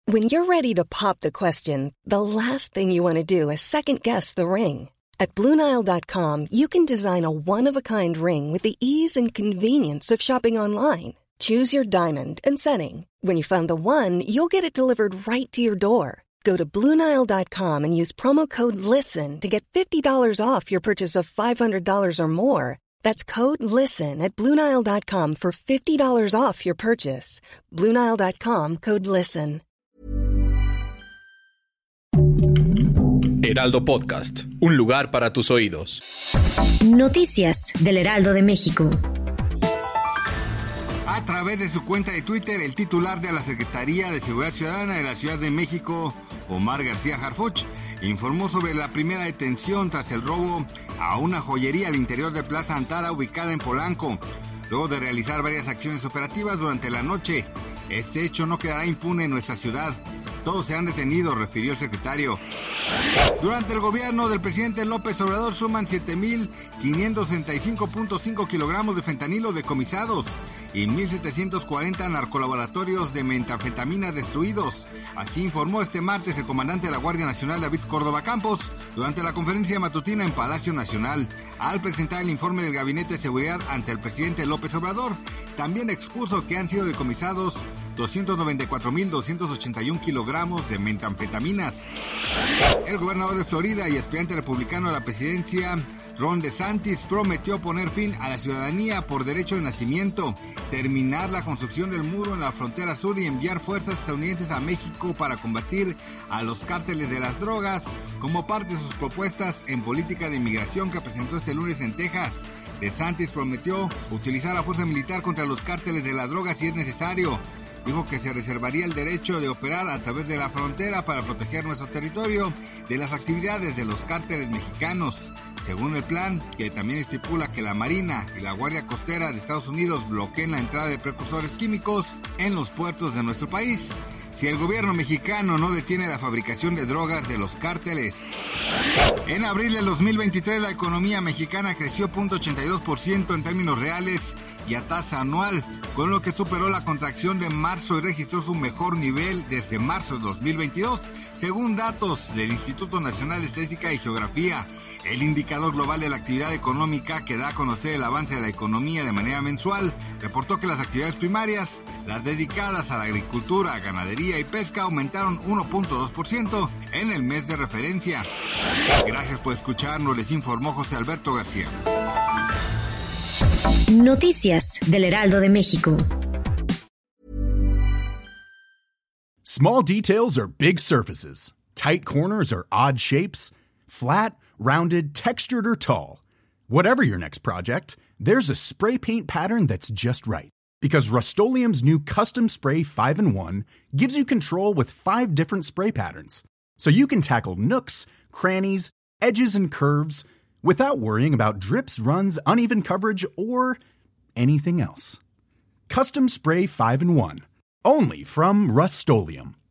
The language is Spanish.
When you're ready to pop the question, the last thing you want to do is second-guess the ring. At BlueNile.com, you can design a one-of-a-kind ring with the ease and convenience of shopping online. Choose your diamond and setting. When you find the one, you'll get it delivered right to your door. Go to BlueNile.com and use promo code LISTEN to get $50 off your purchase of $500 or more. That's code LISTEN at BlueNile.com for $50 off your purchase. BlueNile.com, code LISTEN. Heraldo Podcast, un lugar para tus oídos. Noticias del Heraldo de México. A través de su cuenta de Twitter, el titular de la Secretaría de Seguridad Ciudadana de la Ciudad de México, Omar García Harfuch, informó sobre la primera detención tras el robo a una joyería al interior de Plaza Antara ubicada en Polanco. Luego de realizar varias acciones operativas durante la noche, este hecho no quedará impune en nuestra ciudad. Todos se han detenido, refirió el secretario. Durante el gobierno del presidente López Obrador suman 7.565.5 kilogramos de fentanilo decomisados y 1.740 narcolaboratorios de metanfetamina destruidos. Así informó este martes el comandante de la Guardia Nacional, David Córdoba Campos, durante la conferencia matutina en Palacio Nacional. Al presentar el informe del Gabinete de Seguridad ante el presidente López Obrador, también expuso que han sido decomisados 294.281 kilogramos de metanfetaminas. El gobernador de Florida y aspirante republicano a la presidencia, Ron DeSantis, prometió poner fin a la ciudadanía por derecho de nacimiento, terminar la construcción del muro en la frontera sur y enviar fuerzas estadounidenses a México para combatir a los cárteles de las drogas, como parte de sus propuestas en política de inmigración que presentó este lunes en Texas. DeSantis prometió utilizar la fuerza militar contra los cárteles de la droga si es necesario. Dijo que se reservaría el derecho de operar a través de la frontera para proteger nuestro territorio de las actividades de los cárteles mexicanos. Según el plan, que también estipula que la Marina y la Guardia Costera de Estados Unidos bloqueen la entrada de precursores químicos en los puertos de nuestro país, si el gobierno mexicano no detiene la fabricación de drogas de los cárteles. En abril del 2023 la economía mexicana creció 0.82% en términos reales y a tasa anual, con lo que superó la contracción de marzo y registró su mejor nivel desde marzo de 2022, según datos del Instituto Nacional de Estadística y Geografía. El indicador global de la actividad económica, que da a conocer el avance de la economía de manera mensual, reportó que las actividades primarias, las dedicadas a la agricultura, ganadería y pesca, aumentaron 1.2% en el mes de referencia. Gracias por escucharnos, les informó José Alberto García. Noticias del Heraldo de México. Small details are big surfaces. Tight corners are odd shapes. Flat, rounded, textured, or tall. Whatever your next project, there's a spray paint pattern that's just right. Because Rust-Oleum's new Custom Spray 5-in-1 gives you control with 5 different spray patterns. So you can tackle nooks, crannies, edges, and curves without worrying about drips, runs, uneven coverage, or anything else. Custom Spray 5-in-1. Only from Rust-Oleum.